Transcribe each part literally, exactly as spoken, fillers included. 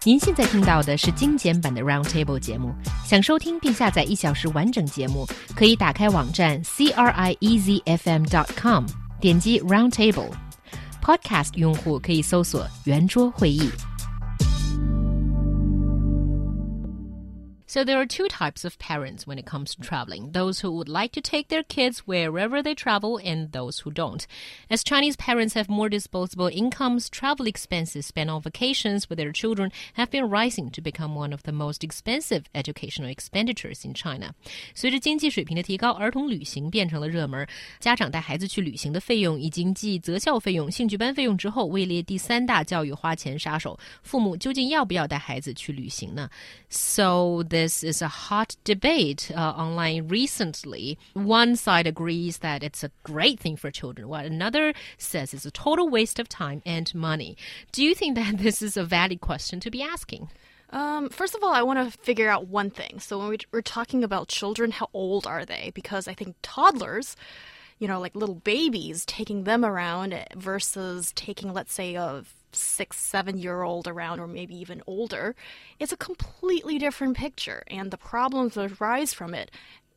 您现在听到的是精简版的 Roundtable 节目。想收听并下载一小时完整节目，可以打开网站 c r i e z f m dot com， 点击 Roundtable。Podcast 用户可以搜索圆桌会议。So there are two types of parents when it comes to traveling, those who would like to take their kids wherever they travel and those who don't. As Chinese parents have more disposable incomes, travel expenses spent on vacations with their children have been rising to become one of the most expensive educational expenditures in China. 随着经济水平的提高，儿童旅行变成了热门。家长带孩子去旅行的费用已经继择校费用、兴趣班费用之后，位列第三大教育花钱杀手。父母究竟要不要带孩子去旅行呢？ So this is a hot debate uh, online recently. One side agrees that it's a great thing for children, while another says it's a total waste of time and money. Do you think that this is a valid question to be asking? Um, first of all, I want to figure out one thing. So when we, we're talking about children, how old are they? Because I think toddlers, you know, like little babies, taking them around versus taking, let's say, a six, seven-year-old around or maybe even older, it's a completely different picture. And the problems that arise from it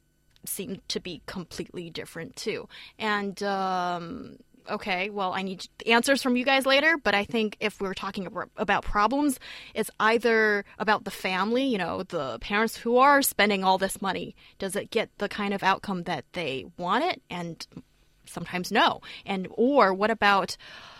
seem to be completely different too. And, um, okay, well, I need answers from you guys later, but I think if we're talking about problems, it's either about the family, you know, the parents who are spending all this money. Does it get the kind of outcome that they want it? And sometimes no. And or what about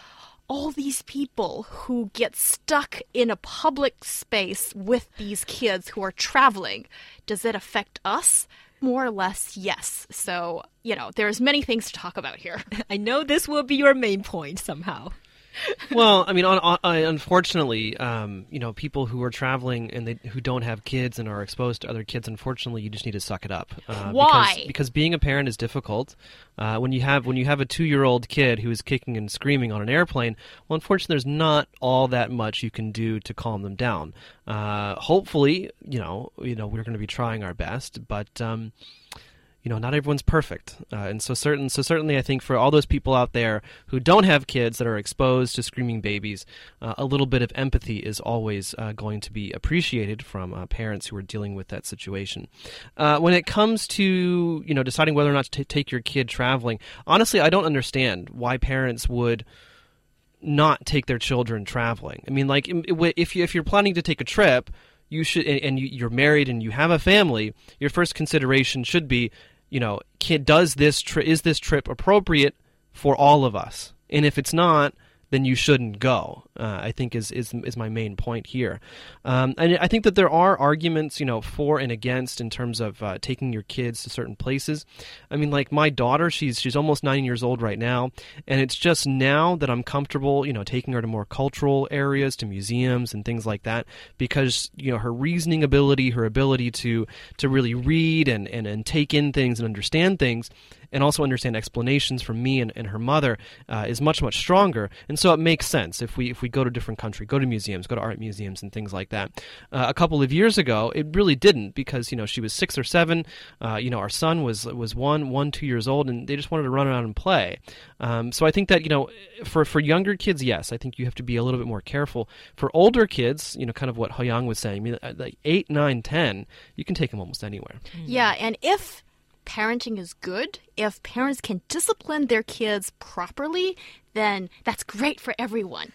all these people who get stuck in a public space with these kids who are traveling? Does it affect us? More or less, yes. So, you know, there's many things to talk about here. I know this will be your main point somehow. Well, I mean, on, on, unfortunately, um, you know, people who are traveling and they, who don't have kids and are exposed to other kids, unfortunately, you just need to suck it up. Uh, Why? Because, because being a parent is difficult. Uh, when you have when you have a two-year-old kid who is kicking and screaming on an airplane, well, unfortunately, there's not all that much you can do to calm them down. Uh, hopefully, you know, you know, we're going to be trying our best, but. Um, You know, not everyone's perfect. Uh, and so certain, so certainly I think for all those people out there who don't have kids that are exposed to screaming babies, uh, a little bit of empathy is always uh, going to be appreciated from uh, parents who are dealing with that situation. Uh, when it comes to, you know, deciding whether or not to t- take your kid traveling, honestly, I don't understand why parents would not take their children traveling. I mean, like, if, you, if you're planning to take a trip, you should, and you're married and you have a family, your first consideration should be, you know, kid, does this tri- is this trip appropriate for all of us? And if it's not, then you shouldn't go, uh, I think is, is is my main point here. Um, and I think that there are arguments, you know, for and against in terms of uh, taking your kids to certain places. I mean, like my daughter, she's she's almost nine years old right now, and it's just now that I'm comfortable, you know, taking her to more cultural areas, to museums and things like that, because, you know, her reasoning ability, her ability to to really read and, and, and take in things and understand things, and also understand explanations from me and, and her mother uh, is much, much stronger. And so it makes sense if we if we go to a different country, go to museums, go to art museums and things like that. Uh, a couple of years ago, it really didn't, because, you know, she was six or seven. Uh, you know, our son was was one, one, two years old, and they just wanted to run around and play. Um, so I think that, you know, for, for younger kids, yes, I think you have to be a little bit more careful. For older kids, you know, kind of what Hoyang was saying, I mean, like eight, nine, ten, you can take them almost anywhere. Yeah, and if parenting is good, if parents can discipline their kids properly, then that's great for everyone.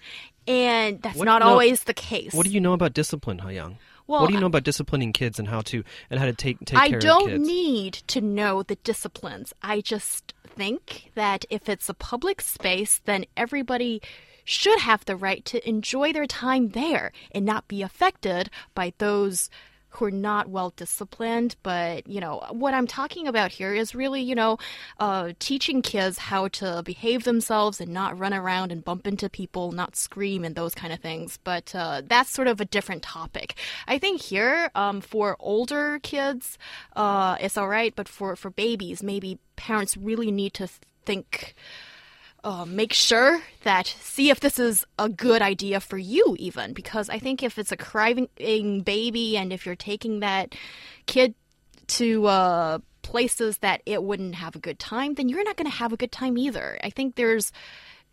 And that's what, not no, always the case. What do you know about discipline, Hayoung? Well, what do you know about disciplining kids and how to and how to take take I care of kids? I don't need to know the disciplines. I just think that if it's a public space, then everybody should have the right to enjoy their time there and not be affected by those who are not well disciplined. But, you know, what I'm talking about here is really, you know, uh, teaching kids how to behave themselves and not run around and bump into people, not scream and those kind of things. But uh, that's sort of a different topic. I think here, um, for older kids, uh, it's all right. But for, for babies, maybe parents really need to think... Uh, make sure that, see if this is a good idea for you even, because I think if it's a crying baby and if you're taking that kid to uh, places that it wouldn't have a good time, then you're not going to have a good time either. I think there's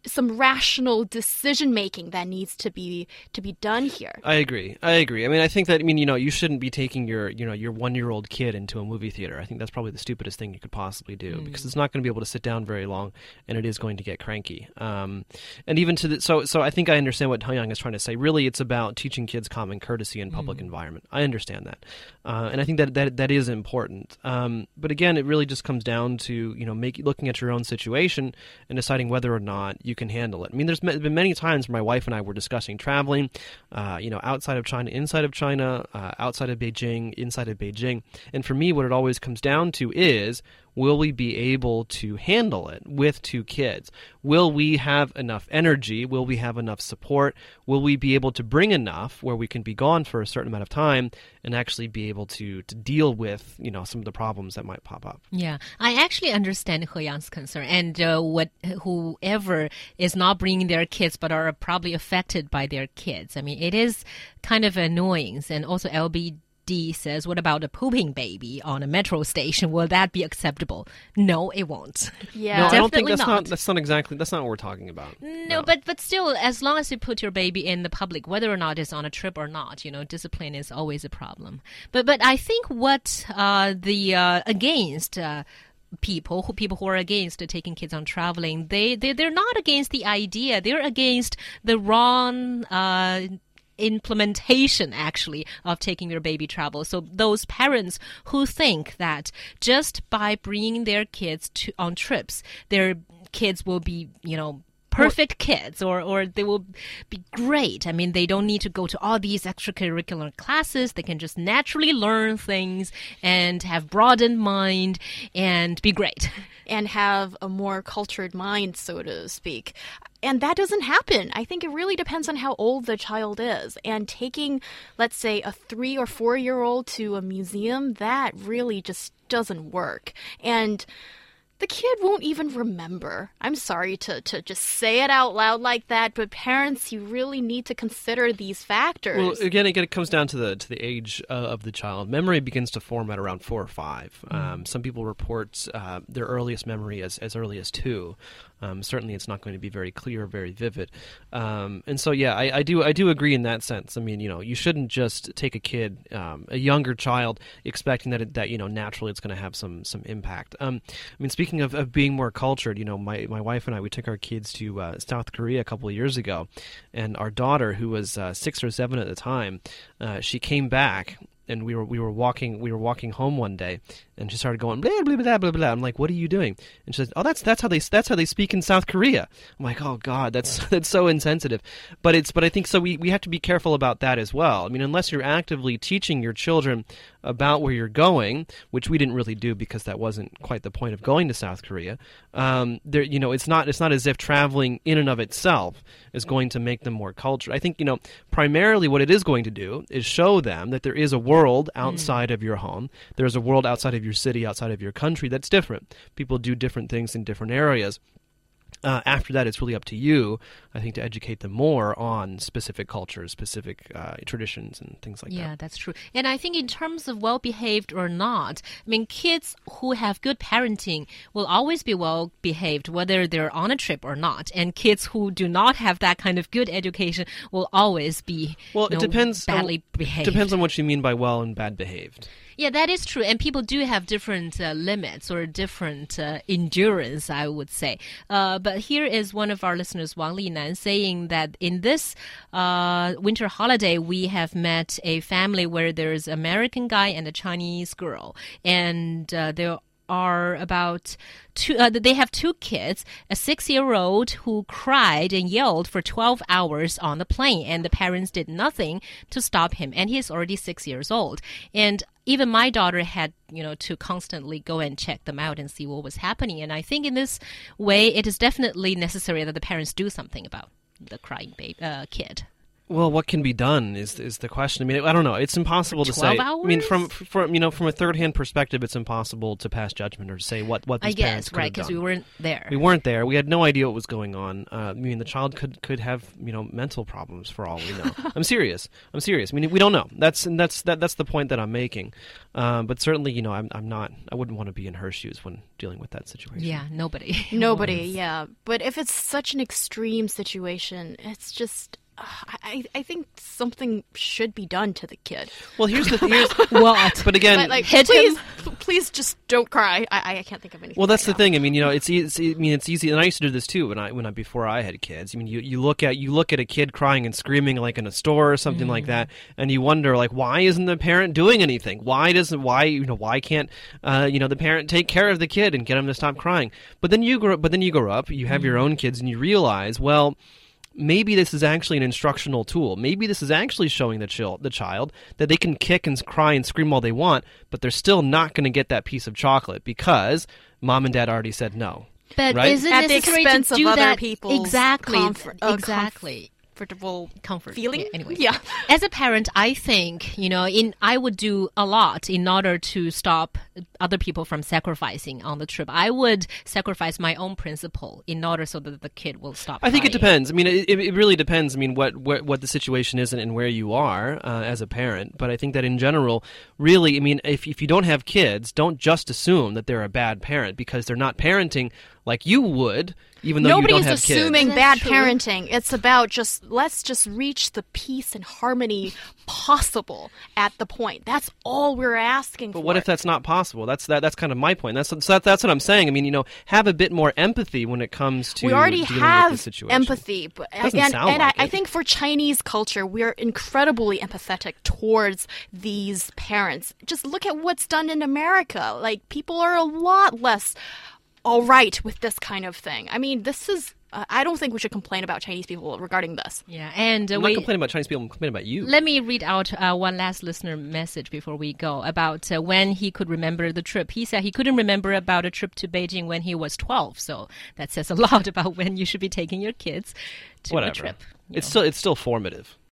some rational decision making that needs to be to be done here. I agree. I agree. I mean, I think that I mean, you know, you shouldn't be taking your, you know, your one-year-old kid into a movie theater. I think that's probably the stupidest thing you could possibly do mm. because it's not going to be able to sit down very long, and it is going to get cranky. Um, and even to the so so I think I understand what Hyung is trying to say. Really, it's about teaching kids common courtesy in public mm. environment. I understand that, uh, and I think that that that is important. Um, but again, it really just comes down to you know make, looking at your own situation and deciding whether or not you can handle it. I mean, there's been many times where my wife and I were discussing traveling, uh, you know, outside of China, inside of China, uh, outside of Beijing, inside of Beijing. And for me, what it always comes down to is, will we be able to handle it with two kids? Will we have enough energy? Will we have enough support? Will we be able to bring enough where we can be gone for a certain amount of time and actually be able to, to deal with, you know, some of the problems that might pop up? Yeah, I actually understand He Yang's concern. And uh, what whoever is not bringing their kids but are probably affected by their kids. I mean, it is kind of annoying. And also L B D says, what about a pooping baby on a metro station? Will that be acceptable? No, it won't. Yeah, no, I don't think Definitely that's not. not. That's not exactly. That's not what we're talking about. No, No. but but still, as long as you put your baby in the public, whether or not it's on a trip or not, you know, discipline is always a problem. But but I think what uh, the uh, against. Uh, people who people who are against taking kids on traveling, they, they they're not against the idea, they're against the wrong uh implementation actually of taking your baby travel. So those parents who think that just by bringing their kids to on trips, their kids will be, you know, perfect kids, or, or they will be great. I mean, they don't need to go to all these extracurricular classes. They can just naturally learn things and have broadened mind and be great. And have a more cultured mind, so to speak. And that doesn't happen. I think it really depends on how old the child is. And taking, let's say, a three or four-year-old to a museum, that really just doesn't work. And the kid won't even remember. I'm sorry to, to just say it out loud like that, but parents, you really need to consider these factors. Well, again, again, it comes down to the to the age uh, of the child. Memory begins to form at around four or five. Mm. Um, some people report uh, their earliest memory as, as early as two. Um, certainly, it's not going to be very clear, very vivid. Um, and so, yeah, I, I do I do agree in that sense. I mean, you know, you shouldn't just take a kid, um, a younger child, expecting that it, that you know naturally it's going to have some some impact. Um, I mean, speaking of, of being more cultured, you know, my my wife and I, we took our kids to uh, South Korea a couple of years ago, and our daughter, who was uh, six or seven at the time, uh, she came back. And we were we were walking we were walking home one day, and she started going blah blah blah blah blah. I'm like, "What are you doing?" And she said, "Oh, that's that's how they that's how they speak in South Korea." I'm like, "Oh God, that's that's so insensitive." But it's but I think so. We we have to be careful about that as well. I mean, unless you're actively teaching your children about where you're going, which we didn't really do because that wasn't quite the point of going to South Korea. Um, there, you know, it's not it's not as if traveling in and of itself is going to make them more cultured. I think you know primarily what it is going to do is show them that there is a world outside mm. of your home. There's a world outside of your city, outside of your country that's different. People do different things in different areas. Uh, after that, it's really up to you, I think, to educate them more on specific cultures, specific uh, traditions, and things like yeah, that. Yeah, that's true. And I think in terms of well-behaved or not, I mean, kids who have good parenting will always be well-behaved, whether they're on a trip or not. And kids who do not have that kind of good education will always be well, you know, it depends badly on, behaved. Depends on what you mean by well and bad behaved. Yeah, that is true. And people do have different uh, limits or different uh, endurance, I would say. Uh, but here is one of our listeners, Wang Linan, saying that in this uh, winter holiday, we have met a family where there's an American guy and a Chinese girl. And uh, they're are about two, uh, they have two kids, a six-year-old who cried and yelled for twelve hours on the plane, and the parents did nothing to stop him, and he's already six years old. And even my daughter had, you know, to constantly go and check them out and see what was happening. And I think in this way, it is definitely necessary that the parents do something about the crying baby, uh, kid. Well, what can be done is is the question. I mean, I don't know. It's impossible to say. hours? I mean, from from you know from a third hand perspective, it's impossible to pass judgment or to say what what these I parents guess, could right, have because done. we weren't there. We weren't there. We had no idea what was going on. Uh, I mean, the child could could have you know mental problems for all we know. I'm serious. I'm serious. I mean, we don't know. That's and that's that, that's the point that I'm making. Um, but certainly, you know, I'm I'm not. I wouldn't want to be in her shoes when dealing with that situation. Yeah, nobody. Nobody, yeah. But if it's such an extreme situation, it's just. Uh, I I think something should be done to the kid. Well, here's the here's. What? But again, Like, like hit please, him. p- please just don't cry. I I can't think of anything. Well, that's right the now. thing. I mean, you know, it's, e- it's I mean, it's easy, and I used to do this too when I when I before I had kids. I mean, you, you look at you look at a kid crying and screaming like in a store or something like that, and you wonder like, why isn't the parent doing anything? Why doesn't why you know why can't uh, you know the parent take care of the kid and get him to stop crying? But then you grow but then you grow up, you have your own kids, and you realize, well, maybe this is actually an instructional tool. Maybe this is actually showing the, chil- the child that they can kick and cry and scream all they want, but they're still not going to get that piece of chocolate because mom and dad already said no. But Right? is it At the necessary expense to of do other that? people's exactly. comfort- uh, exactly. Comfortable Comfort feeling. Yeah, anyway, Yeah. As a parent, I think you know, in I would do a lot in order to stop other people from sacrificing on the trip. I would sacrifice my own principle in order so that the kid will stop. I think it crying. depends. I mean, it, it really depends. I mean, what, what what the situation is and, and where you are uh, as a parent. But I think that in general, really, I mean, if if you don't have kids, don't just assume that they're a bad parent because they're not parenting like you would, even though you don't Nobody's have assuming kids. bad That's true. parenting. It's about just let's just reach the peace and harmony possible at the point. That's all we're asking for. But what if that's not possible? That's that. That's kind of my point. That's so that, that's what I'm saying. I mean, you know, have a bit more empathy when it comes to we already dealing have with the situation. empathy, but Doesn't and, sound and like I, I it. think for Chinese culture, we're incredibly empathetic towards these parents. Just look at what's done in America. Like people are a lot less all right with this kind of thing. I mean, this is. Uh, I don't think we should complain about Chinese people regarding this. Yeah, and uh, I'm we. not complaining about Chinese people. I'm complaining about you. Let me read out uh, one last listener message before we go about uh, when he could remember the trip. He said he couldn't remember about a trip to Beijing when he was twelve. So that says a lot about when you should be taking your kids to Whatever. a trip. you It's know. still it's still formative.